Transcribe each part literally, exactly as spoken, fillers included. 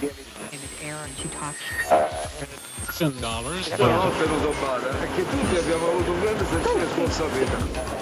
dollars. No, ho tenuto bada, perché tutti abbiamo avuto un grande senso di responsabilità.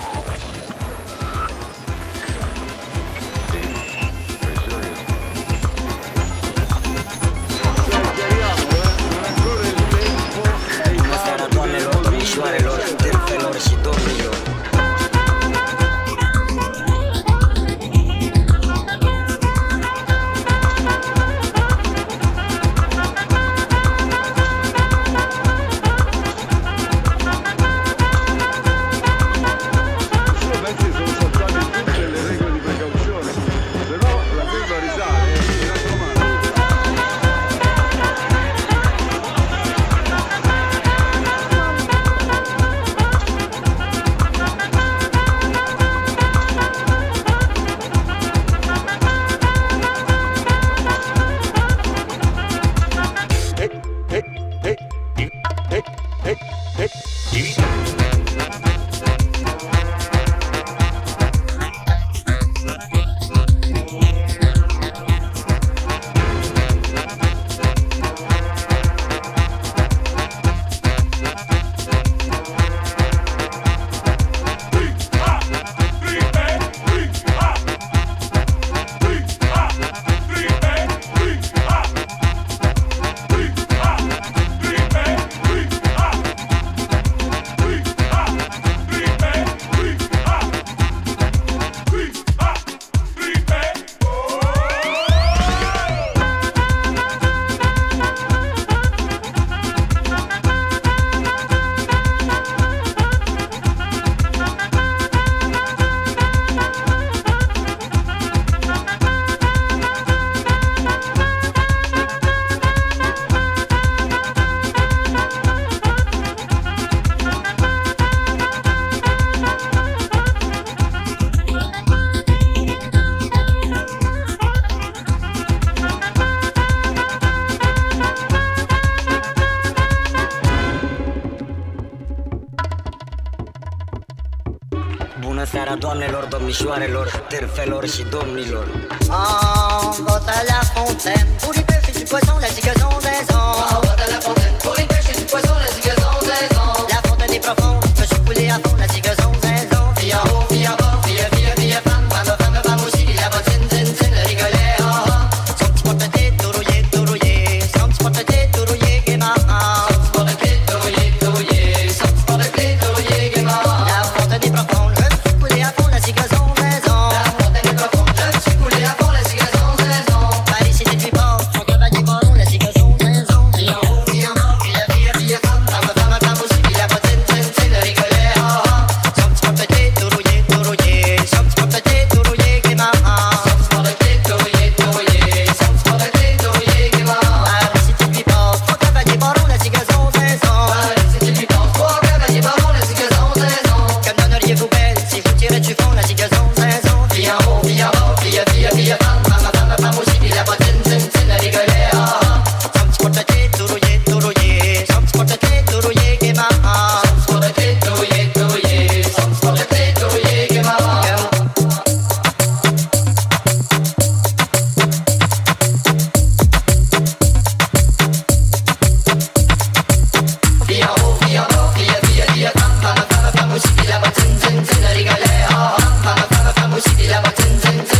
Seara doamnelor, domnișoarelor, târfelor și domnilor. On va à la fontaine pour les pêches et du poisson, la zigazon zazon. On va à la fontaine pour les pêches et du poisson, la zigazon zazon. La fontaine est profonde, je suis coulé à fond, la zigazon zazon. Fille en haut, fille en bas, fille, fille, fille, femme, femme, femme, femme aussi, la bottine, zin, zin, le rigolet, oh, oh. Son petit porte-tête, tout rouillé, tout rouillé, son petit porte-tête, tout rouillé, gaiement. Son petit porte-tête, tout rouillé, tout rouillé, son petit porte-tête, tout rouillé, gaiement. La fontaine est profonde, je suis coulé à fond, la zigazon zazon. La fontaine est profonde, je suis coulé à fond, la zigazon zazon. Paris, c'est depuis bord, son cavalier baron, la zigazon zazon. Fille en haut, fille en bas, fille, fille, fille, femme, femme, femme, femme aussi, fille, la bottine, zin, zin, le rigolet, oh, oh. Son petit porte-tête, tout rouillé, tout rouillé, son petit porte-tête, tout rouillé, gaiement. Son petit porte-tête, tout rouillé, tout rouillé, son petit porte-tête, tout rouillé, gaiement. Paris, c'est depuis bord, son cavalier baron, la zigazon zazon. Paris, c'est depuis bord, son cavalier baron, la zigazon zazon. Comme donneriez-vous belle si vous tirez du fond, la zigazon zazon. Fille en haut, fille en bas, fille, fille, fille, femme, femme, femme, femme aussi, fille, la bottine, zin, zin, le rigolet, oh, oh. Son petit porte-tête, tout rouillé, tout rouillé, son petit porte-tête, tout rouillé, gaiement. Son petit porte-tête, tout rouillé, tout rouillé, son petit porte-tête, tout rouillé, gaiement. Fille en haut, fille en bas, fille, fille, fille, femme, femme, femme, femme aussi, fille, la bottine, zin, zin, le rigolet, oh, oh. Femme, femme, femme aussi, fille, la bottine, zin, zin.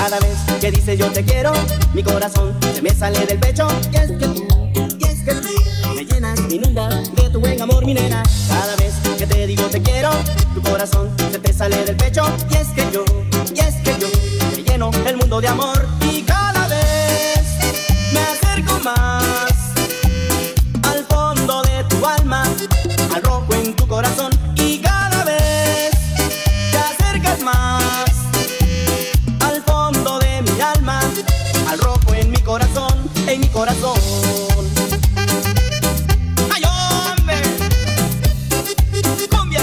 Cada vez que dices yo te quiero, mi corazón se me sale del pecho. Y es que tú, y es que tú me llenas, me inundas de tu buen amor, mi nena. Cada vez que te digo te quiero, tu corazón se te sale del pecho. Y es que yo, y es que yo te lleno el mundo de amor. Y cada vez me acerco más al fondo de tu alma, al rojo en tu corazón. Y cada vez te acercas más al fondo de mi alma, al rojo en mi corazón, en mi corazón. ¡Ay, hombre! ¡Cumbia!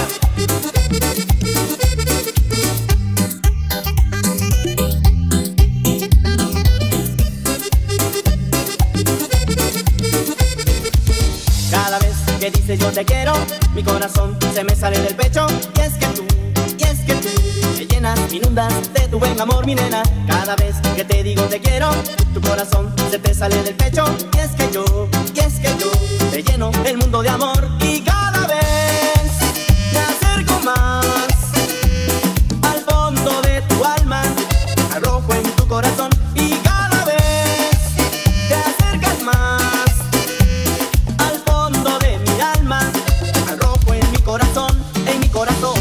Cada vez que dices yo te quiero, mi corazón se me sale del pecho. Y es que tú, y es que tú me llenas, me inundas de tu buen amor, mi nena. Cada vez que te digo te quiero, tu corazón se te sale del pecho. Y es que yo, y es que yo te lleno el mundo de amor. Y cada vez me acerco más al fondo de tu alma, al rojo en tu corazón. Y cada vez te acercas más al fondo de mi alma, al rojo en mi corazón, en mi corazón.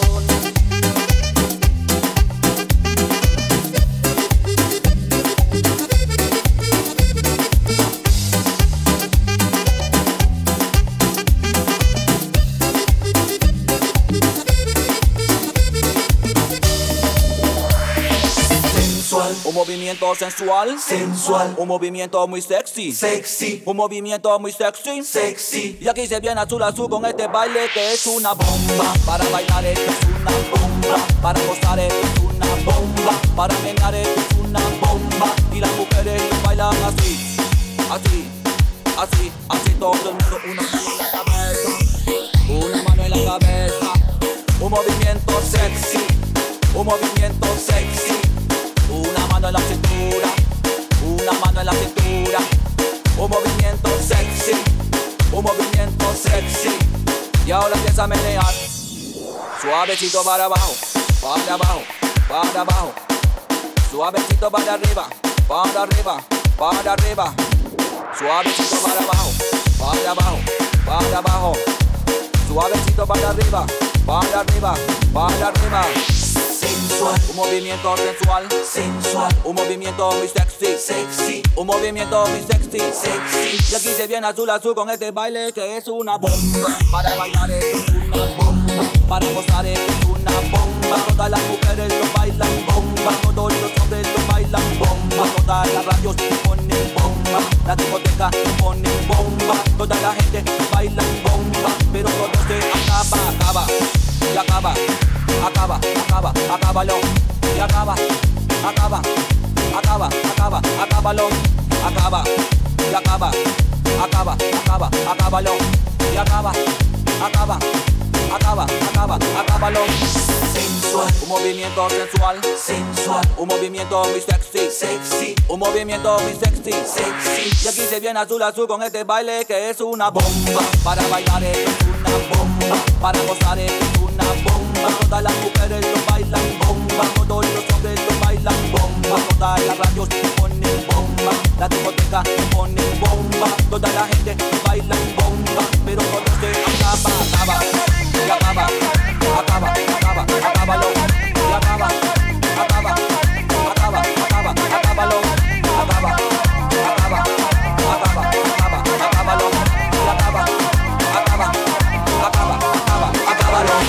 Un movimiento sensual, sensual, un movimiento muy sexy, sexy, un movimiento muy sexy, sexy. Y aquí se viene azul azul con este baile que es una bomba. Para bailar esto es una bomba, para gozar esto es una bomba, para menear esto es una bomba. Y las mujeres bailan así, así, así, así todo el mundo. Una mano en la cabeza, una mano en la cabeza. Un movimiento sexy, un movimiento sexy. Una mano en la cintura, una mano en la cintura. Un movimiento sexy, un movimiento sexy. Y ahora empieza a menear, suavecito para abajo, para abajo, para abajo. Suavecito para arriba, para arriba, para arriba. Suavecito para abajo, para abajo, para abajo. Suavecito para arriba, para arriba, para arriba. Sensual, un movimiento sensual, sensual, un movimiento muy sexy, sexy, un movimiento muy sexy, sexy. Y aquí se viene azul azul con este baile que es una bomba. Para bailar esto es una bomba, para gozar esto es una bomba. Todas las mujeres lo bailan bomba, todos los hombres lo bailan bomba. Todas las radios ponen bomba, la discoteca ponen bomba. Toda la gente baila bomba, pero todo se acaba, acaba, y acaba. Acaba, acaba, acábalo, y acaba, acaba, acaba, acaba, acábalo, acaba, y acaba, acaba, acaba, acábalo, y acaba, acaba, acaba, acaba, acábalo. Sensual, un movimiento sensual, sensual, un movimiento muy sexy, sexy, un movimiento muy sexy, sexy. Y aquí se viene azul azul con este baile que es una bomba. Para bailar esto es una bomba, para gozar esto es una bomba. Todas las mujeres lo bailan bomba, todos los hombres lo bailan bomba. Todas las radios ponen bomba, la discoteca ponen bomba. Toda la gente baila bomba, pero todo se acaba, acaba, y acaba, acaba, acaba, acábalo, y acaba, acaba, acaba, acaba, acábalo, acaba, acaba, acaba, acaba, acábalo, y acaba, acaba, acaba, acaba, acábalo.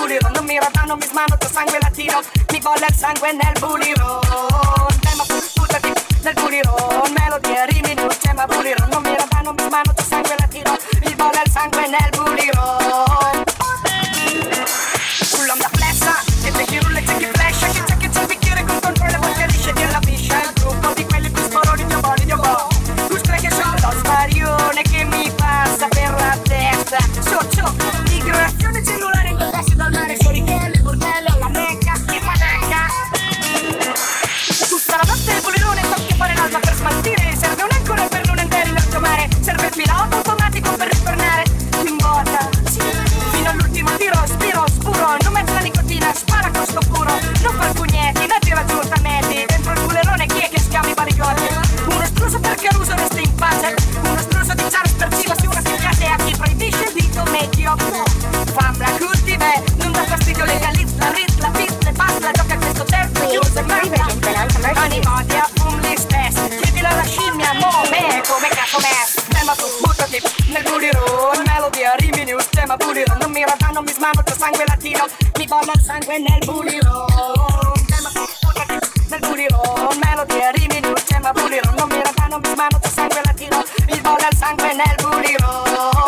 buliro, non mi rata, non mi smano, c'ho sangue latino, mi bolle il sangue nel buliro. Tema buttati nel buliro, melodia, rimi, news, tema buliro, non mi rata, non mi smano, c'ho sangue latino, mi bolle il sangue nel buliro. Sull'onda flessa, che c'è chi rulla e c'è chi flasha, che c'è chi c'è il bicchiere con controllo, poi che lisce di la piscia, il gruppo di quelli più sporoni, dio boli, dio bo. Lustre che sono lo sparione che mi passa per la testa, socio, migrazione cellulare in tassi dal mare, sorichelli, bordelli, alla mecca, che manecca. Tutta la notte il bulirone, tocchi fare l'alba per smaltire, serve un'ancora per non entrare in alto mare, serve il pilota automatico per ritornare in botta. Fino all'ultimo tiro, spiro, scuro, non metto la nicotina, spara costo puro, non far pugnetti, non tira giù tametti, dentro il bulerone chi è che schiama i barigotti? Uno struso per Caruso resta in pace, uno struso di Charles per Civa, una schiacciate a chi proibisce il dito medio. Famla cultive, non dà fastidio, legalizza, ritla, pizza, basta, gioca a questo certo, chiuso e merde. Animati a fum li stessi, chiedilo alla scimmia, mo me, come cazzo me. Tema tu, buttati nel buliro, melodia, rimi, news, tema buliro, non mi rata, non mi smano, c'ho sangue latino, mi bolla il sangue nel buliro. Tema tu, buttati nel buliro, melodia, rimi, news, tema buliro, non mi rata, non mi smano, c'ho sangue latino, mi bolla il sangue nel buliro.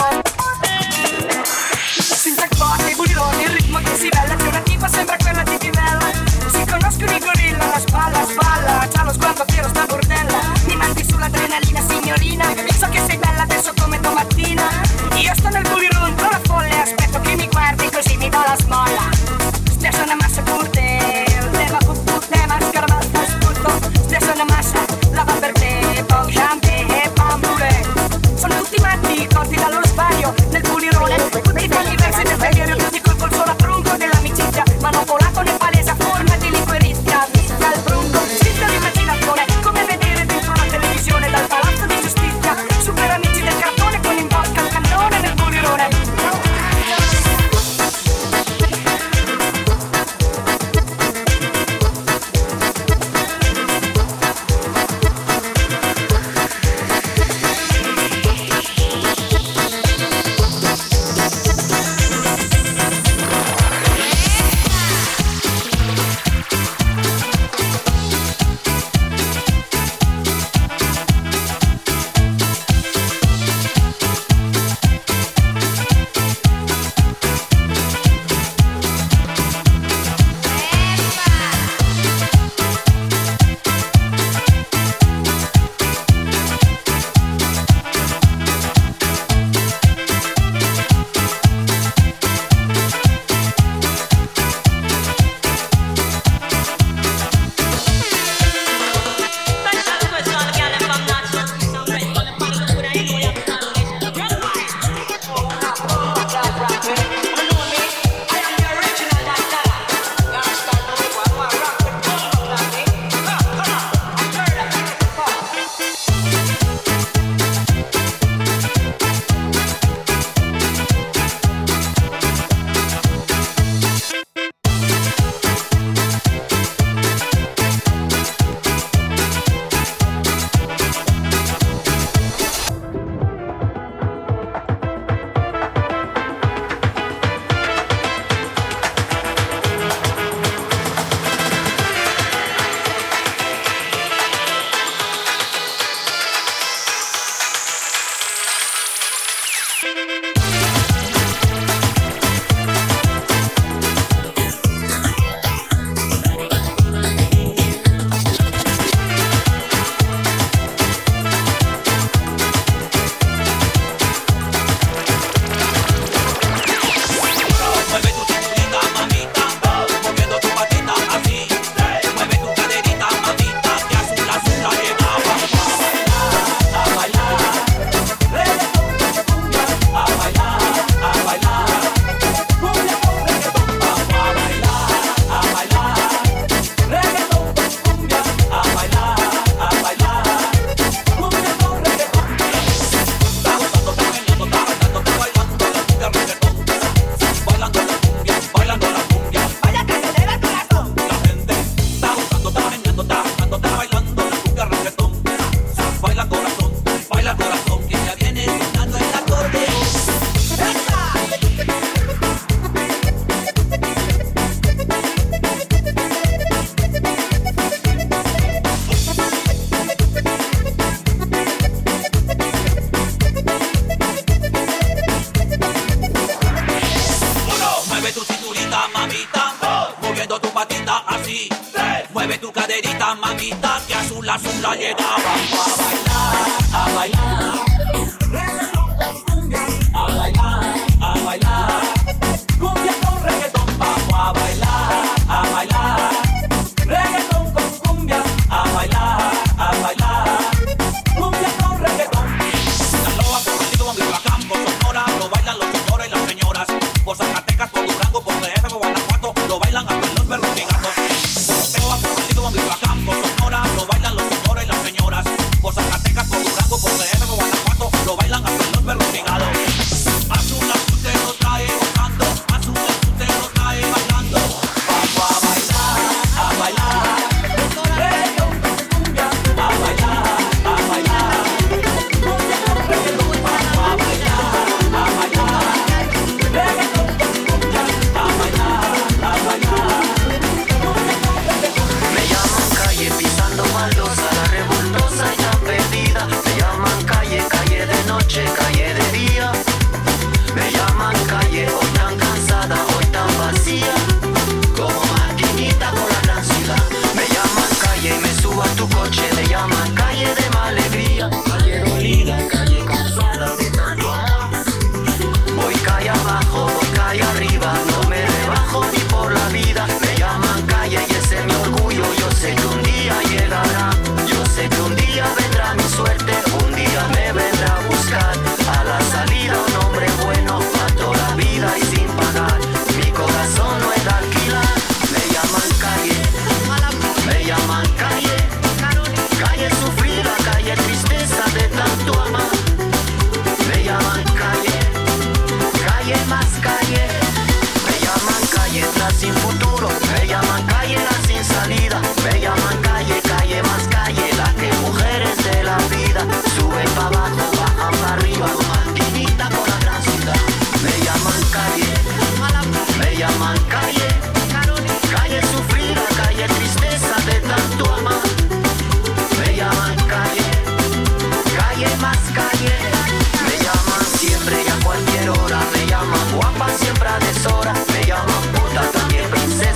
Sintax bulironi, il ritmo che si vella, che una tipa sembra quella di Tivella. Si conoscono i gorilla, la spalla, spalla, c'ha lo sguardo fiero, sta bordella. Mi mandi sull'adrenalina, signorina, so che sei bella adesso come domattina. Io sto nel buliron, con la folle, aspetto che mi guardi così mi do la smolla. Stesso una massa curte, tema pupù, tema scarabata, sputto. Stesso una massa, lava per te, poi jambe e bambule. Sono tutti matti, la manita que azul azul la llenaba. A bailar, a bailar. Reggaetón con cumbia. A bailar, a bailar. Cumbia con reggaetón. Vamos a bailar, a bailar. Reggaetón con cumbia. A bailar, a bailar. Cumbia con reggaetón. Sinaloa, Puerto Rico, Michoacán, por Sonora, lo bailan los señores y las señoras. Por Zacatecas, por Durango, por D F, por Guanajuato, lo bailan hasta los perros gigantes. Por Puerto Rico, Michoacán, por Sonora, lo bailan los señores y las señoras. Por Zacatecas, por Durango, por D F, por Guanajuato, lo bailan hasta los perros gigantes. Azul, azul te lo trae bajando, azul, azul te lo trae bailando. Vamos a bailar, a bailar. Reggaetón con cumbia, a bailar, a bailar. Cumbia con reggaetón, vamos a bailar, a bailar. Reggaetón con cumbia, a bailar, a bailar. Me llaman calle pisando baldosa, la revoltosa y la perdida. Me llaman calle, calle de noche, calle de día. Me llaman calle, hoy tan cansada, hoy tan vacía, como maquinita por la gran ciudad. Me llaman calle y me subo a tu coche. Me llaman calle de mala alegría, calle dolida, calle cansada de tanto amor. Voy calle abajo, voy calle arriba, no me rebajo ni por la vida. Me llaman calle y ese es mi orgullo. Yo sé que un día llegará, yo sé que un día vendrá mi suerte. Un día me vendrá a buscar a la salida un hombre bueno para toda la vida y sin pagar. Mi corazón no es de alquilar. Me llaman calle, me llaman calle, calle sufrida, calle tristeza de tanto amar. Me llaman calle, calle más calle. Me llaman calle tras sin futuro. Me llaman calle la sin salida. Me llaman calle, calle más calle. La que mujeres de la vida suben para abajo, bajan para arriba, maquinita por la gran ciudad. Me llaman calle, me llaman calle, calle sufrida, calle tristeza de tanto amar. Me llaman calle, calle más calle. Me llaman siempre y a cualquier hora. Me llaman guapa siempre a deshora. Me llaman puta también princesa.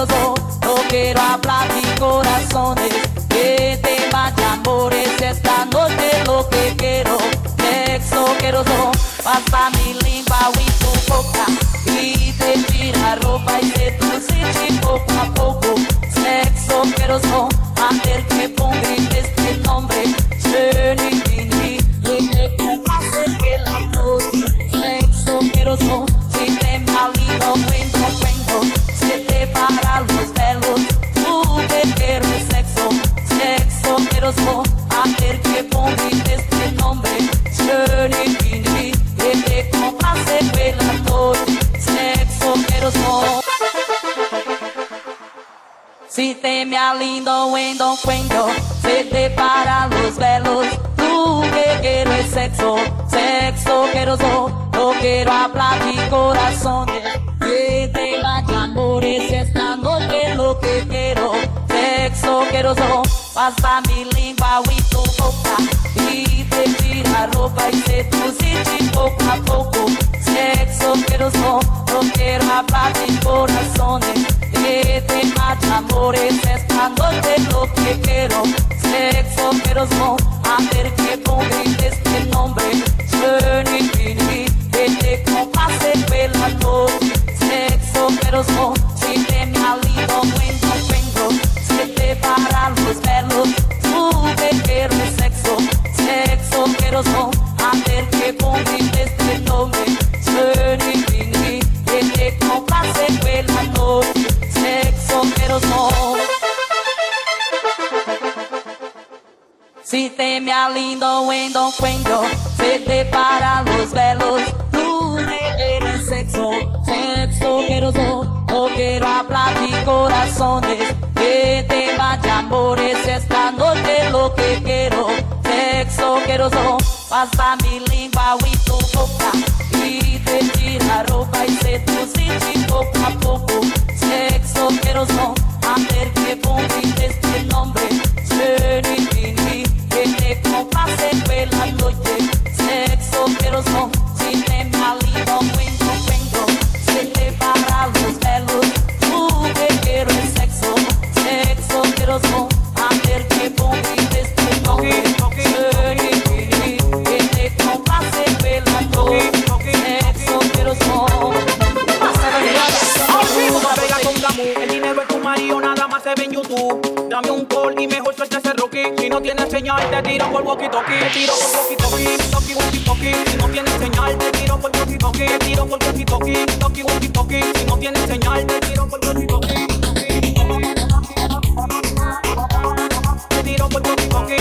asqueroso. No quiero hablar de corazones, que temas de amores. Esta noche lo que quiero, sexo asqueroso. Pasa mi lengua y tu boca y te tira ropa y te dulce poco a poco. Sexo asqueroso, hacer que ponga este nombre. Shenigini, y que pase que la noche. Sexo asqueroso, si te malino, cuento, cuento. Se te para los pelos, tú que quieres sexo. Sexo asqueroso, hacer que ponga este nombre. Shenigini, y que pase que la noche. Sexo asqueroso. Si te me alindo, wendo, cuento, se te para los velos. Tú que quieres sexo, sexo asqueroso. No quiero hablar de corazones, que te vaya amores. Esta noche lo que quiero, sexo asqueroso. Pasa mi lengua y tu boca y te tira ropa y se dulce poco a poco. Sexo asqueroso, no quiero hablar de corazones, que te mata amores. Esta noche lo que quiero, sexo asqueroso. Hacer que ponga este nombre. Shenigini, que te compase que la noche. Sexo asqueroso, si te me alido, cuento, cuento. Se te para los pelos, tú que quieres sexo. Sexo asqueroso, hacer que ponga este nombre. Shenigini, que te compase que la noche. Sexo asqueroso. Si te me alindo, wendo, cuento, se te para los velos. Tú me quieres sexo, sexo asqueroso. No quiero hablar de corazones, que te vaya amores. Esta noche lo que quiero, sexo asqueroso. Pasa mi lengua y tu boca y te tira ropa y se dulce poco a poco. Sexo asqueroso, hacer que ponga este nombre. Shenigini, que te compase que la noche. Sexo asqueroso, si te me alido, cuento, cuento. Se te para los pelos, tú que quieres sexo. Sexo asqueroso, hacer que ponga este nombre. Shenigini, que te compase que la noche. Sexo asqueroso. El dinero es tu marido, nada más se ve en YouTube. Dame un call y mejor suelta ese Rocky. Si no tienes señal, te tiro por walkie-talkie. Te tiro por walkie-talkie, talkie, walkie-talkie. Si no tienes señal, te tiro por walkie-talkie. Te tiro por walkie-talkie, talkie, walkie-talkie. Si no tienes señal, te tiro por walkie-talkie. Te tiro por walkie-talkie.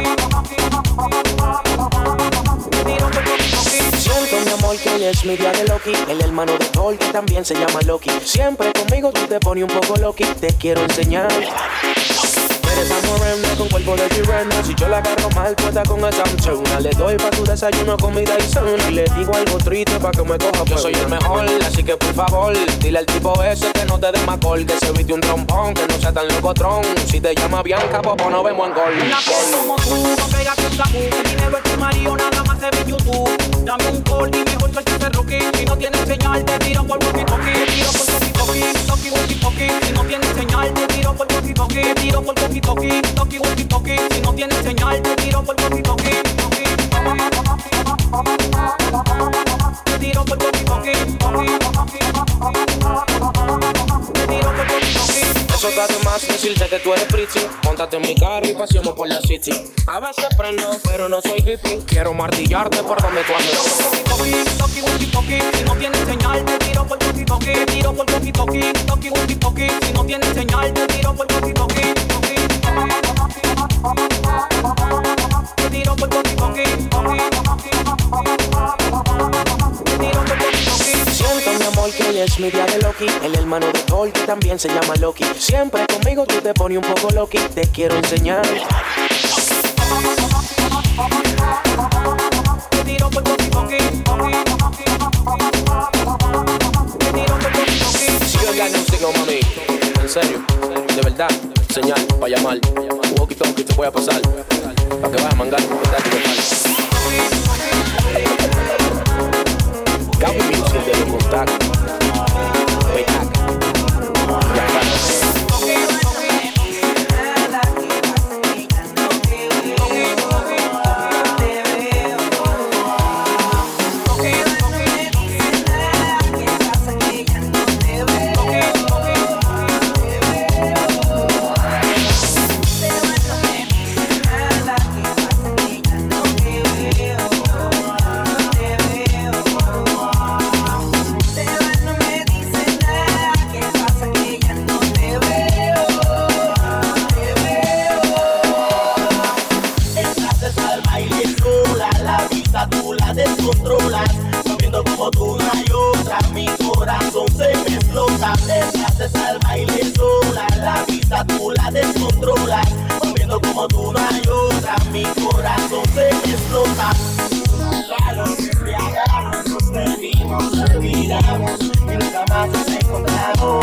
Te tiro por walkie-talkie. Siento, mi amor, que hoy es mi día de Loki, el hermano de Thor que también se llama Loki. Siempre conmigo tú te pones un poco Loki, te quiero enseñar. Eres esa morena con cuerpo de sirena. Si yo la agarro mal, puesta con esa chona. Le doy pa' tu desayuno, comida y cena. Y le digo algo triste pa' que me coja. Yo soy el mejor, así que por favor, dile al tipo ese que no te dé más gol, que se viste un trompón, que no sea tan locotrón. Si te llama Bianca, pues nos vemos en gol. Una que como tú, no pegas un tabú. El dinero es tu marido, nada más se ve en YouTube. Dame un call y mejor suelta ese Rocky. Si no tienes señal, te tiro por walkie-talkie. Te tiro por walkie-talkie, talkie, walkie-talkie. Si no tienes señal, te tiro por walkie-talkie. Te tiro por walkie-talkie, talkie, walkie-talkie. Si no tienes señal, te tiro por walkie-talkie. Te tiro por walkie-talkie. Te tiro por walkie-talkie. Eso está de más decirte que tú eres pretty. Móntate en mi carro y paseamos por la city. A veces prendo, pero no soy hippie. Quiero martillarte por donde tú andes. Talkie, walkie-talkie. Si no tienes señal, te tiro por walkie-talkie. Te tiro por walkie-talkie, talkie, walkie-talkie. Si no tienes señal, te tiro por walkie-talkie. Te tiro por walkie-talkie. Te tiro por walkie-talkie. Siento, mi amor, que hoy es mi día de Loki, el hermano de Thor que también se llama Loki. Siempre conmigo tú te pones un poco Loki, te quiero enseñar. Te tiro por walkie-talkie. Te tiro por walkie-talkie. Si yo ya no sigo, mami, en serio, de verdad, señal, pa' llamar. Walkie-talkie te voy a pasar, pa' que vayas a mangar, ¿verdad? Que te falta. Gaby Music de los contactos. Ya está. haces al baile sola, la vista tú la descontrolas, moviendo como tú no hay otra, mi corazón se explota. Nos embriagamos, nos perdimos, nos olvidamos y nunca más nos encontramos.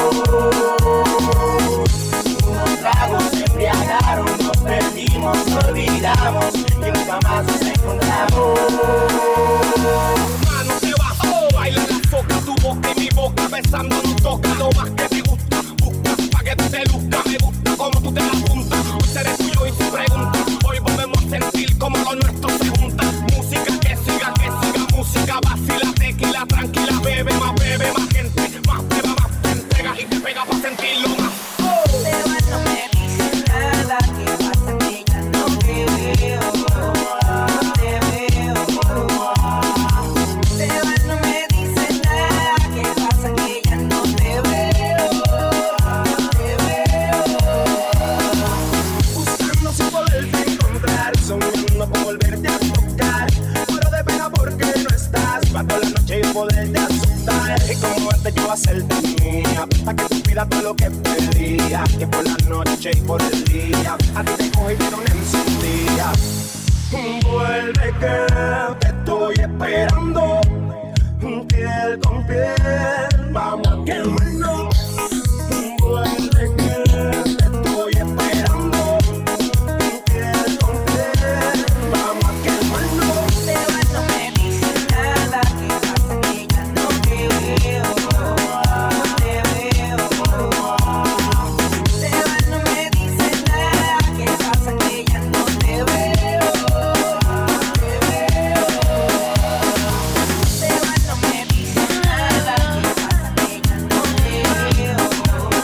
Unos tragos se embriagaron, nos perdimos, nos olvidamos y nunca más nos encontramos. Mano se bajó, baila la foca, tu boca y mi boca besando nos toca lo más que te gusta, busca pa' que tú te luzca, me gusta como tú te la apuntas, hoy seré tuyo y sin pregunta, hoy volvemos a sentir como lo nuestro se junta, música que siga, que siga, música vacila, tequila, tranquila, bebe más, bebe más gente, más beba, más te entrega y te pega pa' sentirlo más. Oh. Pero no me dices nada, ¿qué pasa que ya no te veo? No te veo. Pero no me dices nada, ¿qué pasa que ya no te veo? No te veo. Buscando sin poderte encontrar, soñando con volverte a tocar, muero de pena porque no estás, pa' toda la noche y poderte asustar, y como antes yo hacerte mía, pa' que tú pidas todo lo que pedía, que por la noche y por el día, a ti te cojo y te doy encendida. Vuelve que te estoy esperando, piel con piel, vamos a quemarnos. Vuelve que te estoy esperando, piel con piel, vamos a quemarnos. Pero no me dices nada, ¿qué pasa que ya no te veo? No te veo. Pero no me dices nada, ¿qué pasa que ya no te veo? No te veo. Pero no me dices nada, ¿qué pasa que ya no te veo? No te veo.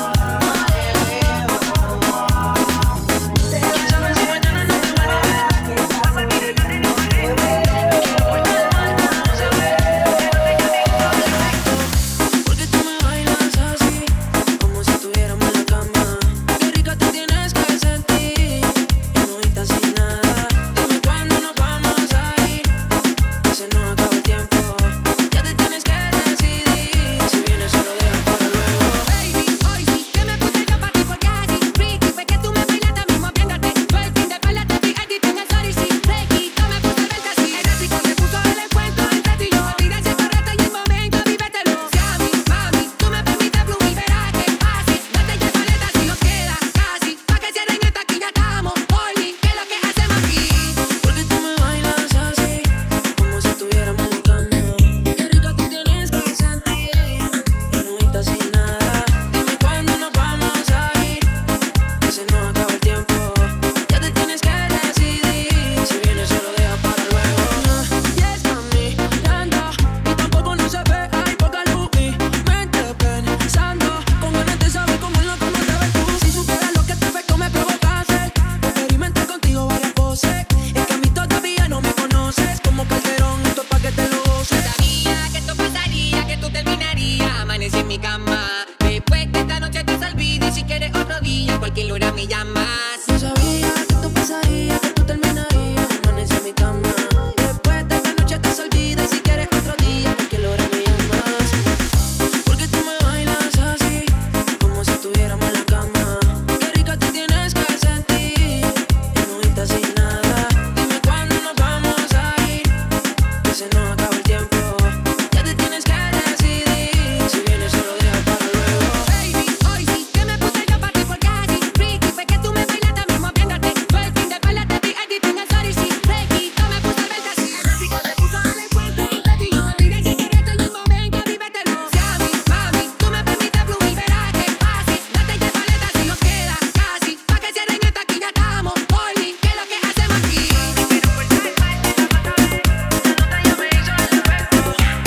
Porque tú me bailas así, como si estuviéramos en la cama. Qué rica te tienes que sentir, y no estás sin nada. Dime cuándo nos vamos a ir, que se nos acaba el tiempo. Ya te tienes que decidir, si vienes solo deja para luego. Baby, hoy sí que me puse yo pa' ti porque así freaky, fue que tú me bailaste mismo viéndote. Fue el fin de espalda, te vi edit en el story, sí. Requito me puse verte así, erótico se puso el encuentro entre tú y yo. Olvida ese correcto y el momento, vívetelo. Si a mí, mami, tú me permites fluir, verás que fácil. Date ya paleta si nos queda casi, pa' que cierren esta aquí ya estamos. Hoy, ¿qué es lo que hacemos aquí? Porque tú me bailas así, como si estuviéramos en la cama. Qué rica te tienes que sentir, y no estás sin nada. Dime cuándo nos vamos a ir, que se nos acaba el tiempo. Ya te tienes que decidir, si vienes solo deja para luego. Y está mirando, y tampoco no se ve, hay poca luz. Mi mente pensando, con ganas de saber cómo es lo que me sabes tú. Si supieras lo que te fue, me provocaste. Experimenté contigo varias poses. Es que a mí todavía no me conoces. Como Calderón, esto es pa' que te lo goces. Sabía que esto pasaría, que tú terminarías. Amanecí en mi cama. Después de esta noche te olvides y si quieres otro día, cualquier hora me llamas. Yo sabía que esto pasaría, que tú terminarías. Amanecí en mi cama. Después de esta noche te olvides y si quieres otro día, cualquier hora me llamas. Porque tú me bailas así, como si estuviéramos en la cama. Qué rica te tienes que sentir, y no estás sin nada. Dime cuándo nos vamos a ir, que se nos acaba el tiempo. Ya te tienes que decidir, si vienes solo deja para luego. Baby, hoy sí que me puse yo pa' ti porque así freaky, fue que tú me bailaste mismo viéndote. Fue el fin de espalda, te vi edit en el story, sí. Requito me puse verte así, erótico se puso el encuentro entre tú y yo. Olvida ese correcto y el momento, vívetelo. Si a mí, mami, tú me permites fluir, verás que fácil. Date ya paleta si nos queda casi, pa' que cierren esta aquí ya estamos. Hoy, ¿qué es lo que hacemos aquí? Pero por tal parte la otra vez, la nota ya me hizo el efecto.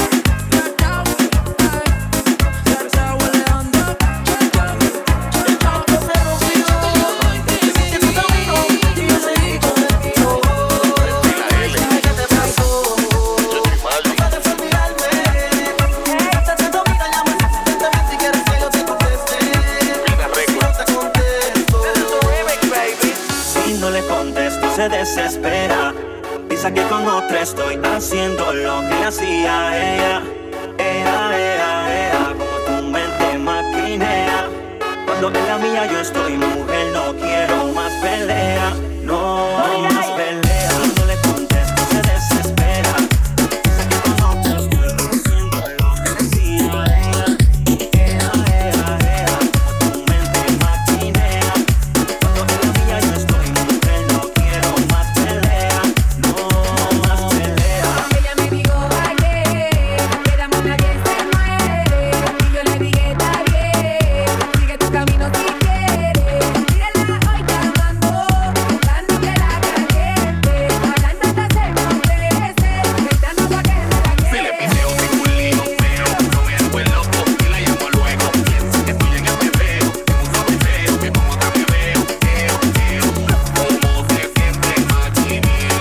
Si no le contesto se desespera, piensa que con otra estoy haciendo lo que le hacía a ella. Ea, ea, ea, como tu mente maquinea. Cuando en la mía yo estoy, mujer, no quiero más pelea. No, más pelea. Y no le contesto, se desespera. Piensa que con otros quiero haciendo lo que decía ella. Ea, ea, ea, como tu mente maquinea. Cuando en la mía yo estoy, mujer, no quiero más pelea. No, más pelea. Ella me dijo ayer, quedamos nadie se muere. Y yo le dije está bien, sigue tu camino si quieres. Mírala hoy llamando, buscando que la caliente. Hablando hasta se enloquece, gritando pa' que me la Si le piseo sin un lío feo, no me hago el loco y la llamo luego. Piensa que estoy en el bebeo, en un sobreseo, que como otra me veo. Eo, eo, como se siente maquinea.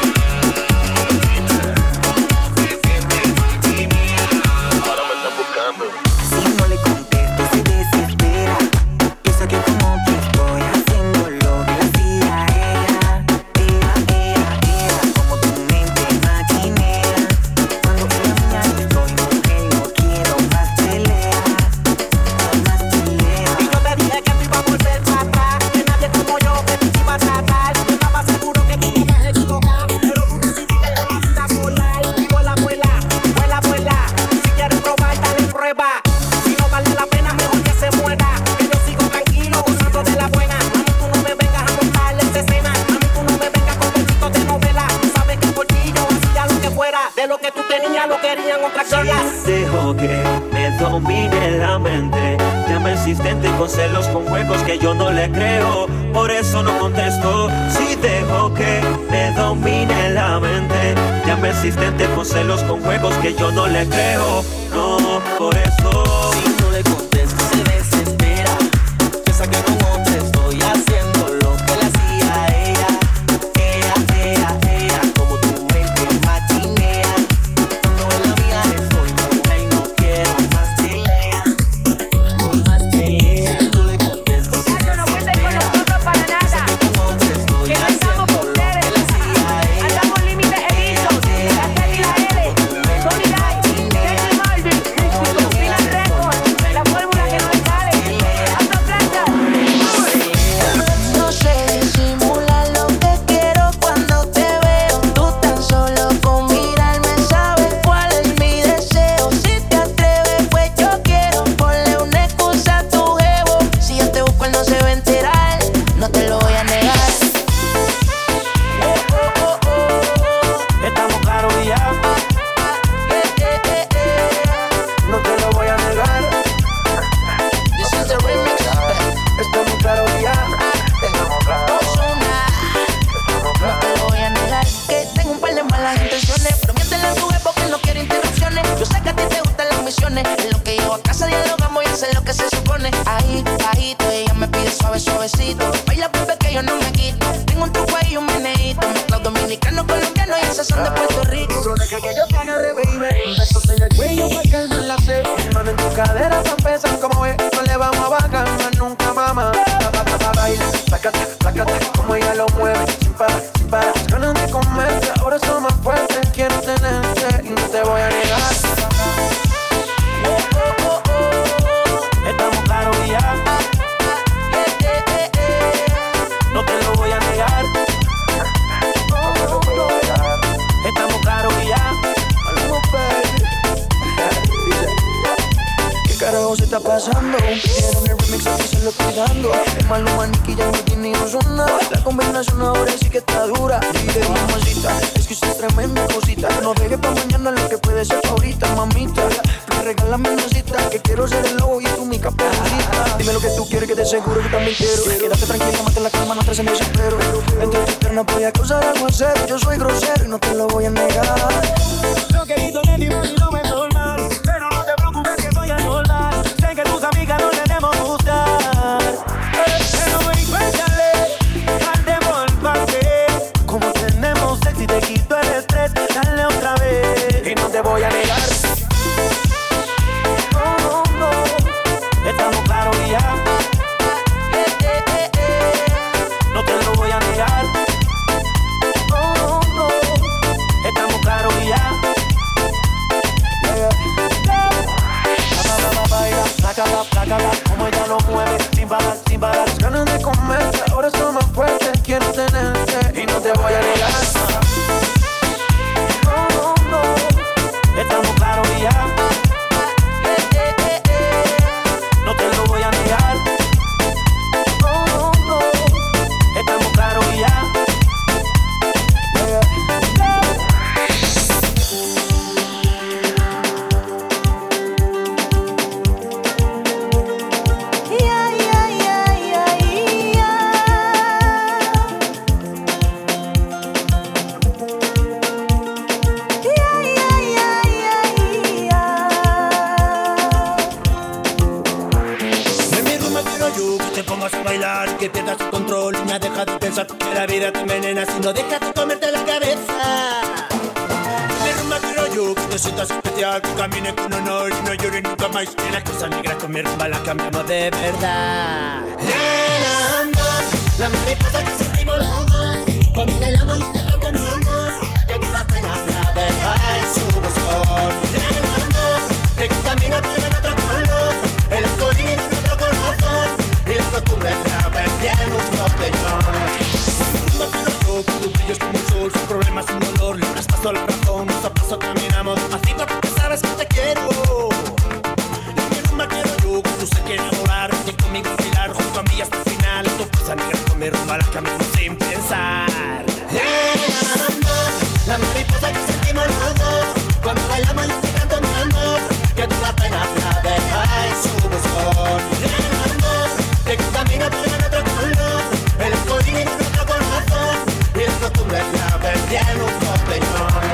Como se siente maquinea. Ahora me están buscando. Si no le contesto se desespera. Piensa que como que estoy haciendo lo que hacía ella. Ea, ea, ea, como tu mente maquinea. Cuando en la mía yo estoy, mujer, no quiero más pelea. No más pelea. Y yo te dije que tú ibas a volver para atrás, que nadie como yo que te iba a tratar. Yo estaba seguro que tú te ibas a equivocar, pero tú decidiste que la vida volar. Vuela, vuela, vuela, vuela. Si quieres probar, dale prueba. Si no vale la pena, mejor que se muera. Que yo sigo tranquilo, gozando de la buena. Mami, tú no me vengas a montarle esa escena. Mami, tú no me vengas con besitos de novela. Tú sabes que por ti yo hacía lo que fuera. De lo que tú tenías, lo querían otras cosas. Dejo que me domine la mente. Llama insistente con celos, con juegos que yo no le creo. Por eso no contesto. Si dejo que me domine la mente. Llama insistente con celos, con juegos que yo no le creo. No, por eso. Si no le contesto se desespera. Piensa que con otra estoy haciendo lo que le hacía a ella. Ea, ea, ea, como tu mente maquinea. Cuando en la mía estoy, mujer, no quiero más pelea. No más pelea. Si no le contesto se Muchachos, no cuenten con nosotros para nada. con otra estoy Que no haciendo estamos lo con que ustedes. le hacía a ella. Andamos límites evitos. La T y la L. Tony Light, Kenny Martin, Cocina Record. La fórmula que no le sale. Ando plata. No sé disimular lo que quiero cuando te veo. Tú tan solo con mirarme sabes cuál es mi deseo. Si te atreves, pues yo quiero. Ponle una excusa a tu jevo. Si yo te busco, él no se va a enterar. No te lo voy a negar. Estamos claros y ya. No te lo voy a negar. This is the remix. Estamos claros y ya. Ozuna. No te lo voy a negar. Que tengo un par de malas intenciones. Pero miéntele a tu jevo que no quiere interrupciones. Yo sé que a ti te gustan las misiones. En lo que llego a casa dialogamos y hacer lo que se supone. Ahí, bajito, ella me pide suave, suavecito. Baila, bebé, que yo no me quito. Tengo un truco ahí y un meneíto. Mezclado dominicano, colombiano y esas son de Puerto Rico. Solo deja que yo te agarre, baby. Besos en el cuello pa' calmar la sed. Mano en tu cadera tan pesan como ves. No le vamos a bajar más nunca, mamá. Pa, pa, pa, pa, baila, placata, placata. Como ella lo mueve, sin parar, sin parar. Ganas de comerte, ahora son más fuertes. Quiero tenerte y no te voy a negar. Estamos claros y ya. No te lo voy a negar. Estamos claros y ya. ¿Qué carajo se está pasando? Pidieron el remix, aquí se lo estoy dando. El Maluma, Nicky, ya no tiene Ozuna. La combinación ahora sí que está dura. Y de mamacita, es que usted es tremenda cosita. No dejes pa' mañana lo que puede ser ahorita, mamita. Regálame una cita, que quiero ser el lobo y tú mi caperucita. Dime lo que tú quieres, que te seguro que también quiero. Quédate tranquila, mate la calma, no estés en desespero. Entre tus piernas voy a causar algo en serio. Yo soy grosero y no te lo voy a negar. Yo querido de ti, mami, no me normal. Pero no te preocupes que voy a soldar. Sé que tus amigas no tenemos gustar. Pero ven, cuéntale, cantemos el pase. Como tenemos sexy, te quito el estrés. Dale otra vez y no te voy a negar. No, no, no. Estamos claros y ya. No te lo voy a negar. No, no. Estamos claros y ya. yo que te pongas a bailar y que pierdas el control. Niña, deja de pensar que la vida te envenena, si no dejas de comerte la cabeza. Mi rumba quiero yo que te sientas especial, que camine con honor y no llores nunca más. Que las cosas negras con mi rumba las cambiamos de verdad. La mariposa que sentimos los dos, cuando bailamos y te reconocemos, que aquí las penas la deja en su buzón. Que camina por el otro color, el escolín en otro corazón, y las costumbres la ven un botellón. No quiero yo, con tus brillos como el sol, sin problemas, sin dolor, le das paso a la razón, paso a paso caminamos, despacito porque sabes que te quiero. Y mi rumba quiero yo, que tú se quieres enamorar, que conmigo bailar junto a mí hasta el final. Tu cosa negra con mi rumba la cambiamos sin pensar. La mariposa que sentimos los dos, cuando bailamos y te canto mi amor, que tú la pena la deja en su buzón. Que camina por el otro color, el escolín en otro corazón, y las costumbres la ven en un botellón.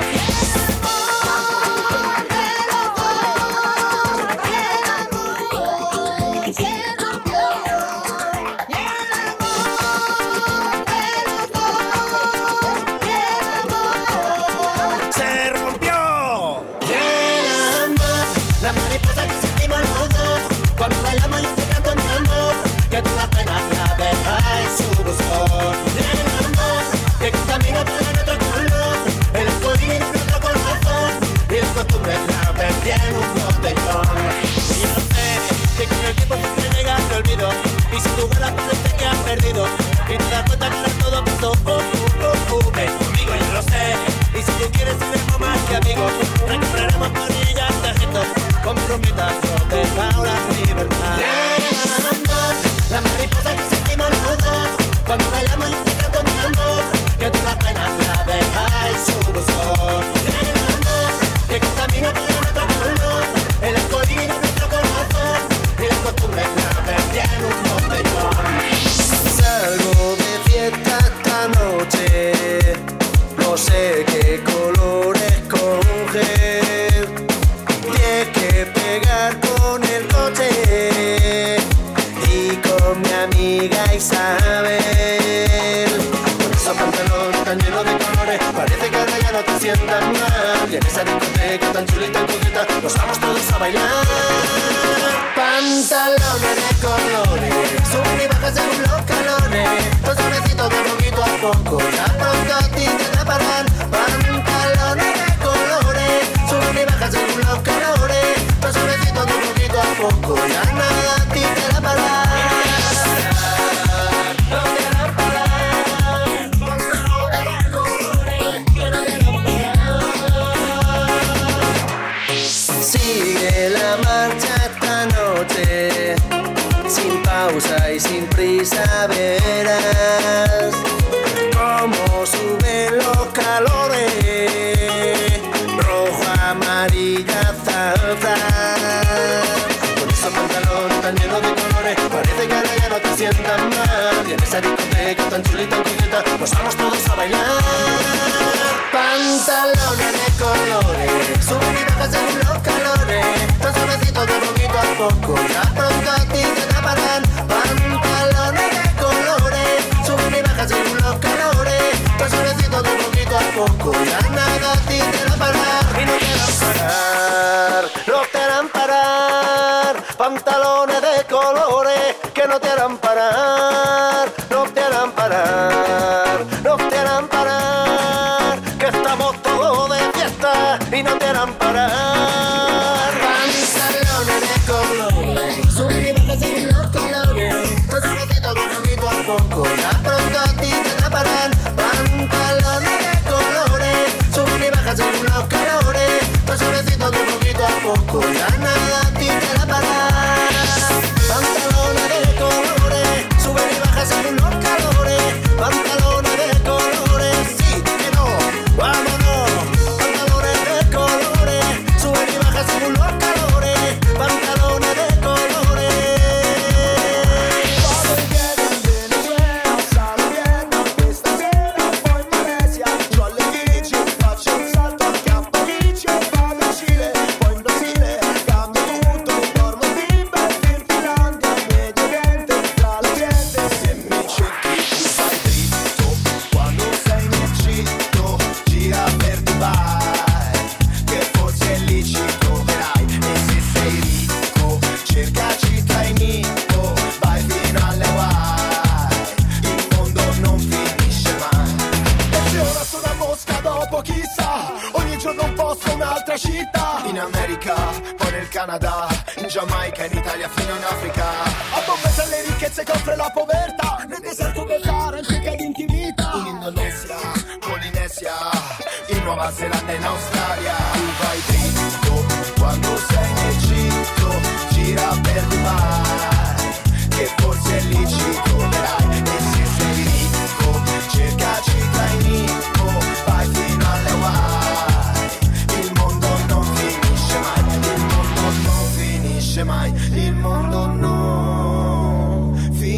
Y si tú vuelas parece que has perdido y te das cuenta que ahora todo pasó. Oh, oh, oh, oh, ven conmigo, yo lo sé. Y si tú quieres seremos más que amigos, recuperaremos planillas, tarjetas con promesas, yo te pago la libertad. La mariposa que sentimos los dos, cuando bailamos y te canto mi amor, que tú la penas la dejas en su buzón. Que contamina por el otro color, el escolín en nuestro corazón, y las costumbres la ven un botellón. Salgo de fiesta esta noche, no sé qué colores coger. Tienes que pegar con el coche y con mi amiga Isabel. Con esos pantalones tan llenos de colores, parece que ahora ya no te sientas mal. Y en esa discoteca tan chulita y coqueta, nos vamos todos a bailar. Pantalones de colores, suben y bajan según los calones, los sobrecitos de poquito a poco, ya pronto a ti te taparán. Pantalones de colores, suben y bajan según los calores, los sobrecitos de poquito a poco, ya nada a ti te taparán. Sigue la marcha esta noche, sin pausa y sin prisa verás cómo suben los calores, rojo, amarilla, salsa. Con esos pantalones tan llenos de colores, parece que ahora ya no te sientas mal. Y en esa discoteca tan chulita y coqueta, nos vamos todos a bailar. Pantalones de colores, suben y bajan según los calores, los sobrecitos de poquito a poco, ya pronto a ti te taparán. Pantalones de colores, suben y bajan según los calores, los sobrecitos de poquito a poco, ya nada a ti te taparán. Y no te harán parar, no te harán parar. Pantalones de colores que no te harán parar, no te harán parar, no te harán parar, que estamos todos de fiesta y no te harán parar. Pantalones de colores, suben y bajan según los colores, los sobrecitos de poquito a poco, ya pronto a ti te taparán. Pantalones de colores, suben y bajan según los calores, los sobrecitos de poquito a poco, ya nada a ti te taparán. Pantalones de colores, suben y bajan según los calores, pantalones de colores, sí, que no, vámonos. Pantalones de colores, suben y bajan según los America, poi nel Canada, in Giamaica, in Italia, fino in Africa. A Bombay le ricchezze che offre la povertà, nel deserto del Sahara, in cerca di intimità. In Indonesia, Polinesia, in Nuova Zelanda, in Australia. Tu vai dritto, quando sei in Egitto, gira per Dubai, che forse è lì ci troverai. E se sei ricco, cercaci tra i Nico, vai fino alle Hawaii. Il mondo non finisce mai, il mondo non finisce mai, il mondo non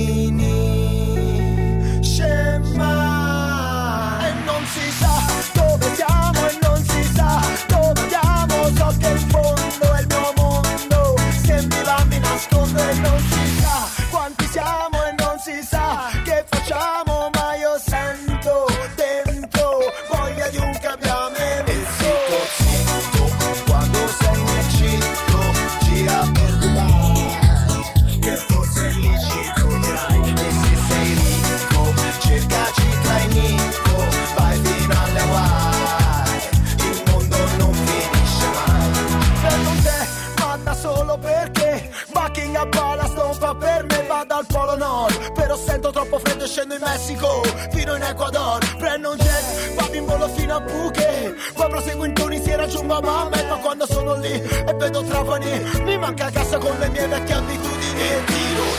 finisce mai. E non si sa dove siamo e non si sa dove andiamo, so che in fondo è il mio mondo, se mi va mi nascondo e non si sa quanti siamo e non si sa che facciamo, ma io sento dentro voglia di un cambiamento. E zitto, zitto, quando sei in Egitto, gira per Dubai, che forse lì ci troverai. E se sei ricco, cercaci tra i Nico, vai fino alle Hawaii, il mondo non finisce mai. Per non te, ma da solo perché Buckingham Palace non fa per me, vado al Polo Nord, però sento troppo freddo e scendo in Messico, fino in Ecuador, prendo un jet, vado in volo fino a Phuket, poi proseguo in Tunisia e raggiungo Mohammed, ma quando sono lì e vedo Trapani, mi manca casa con le mie vecchie abitudini e tiro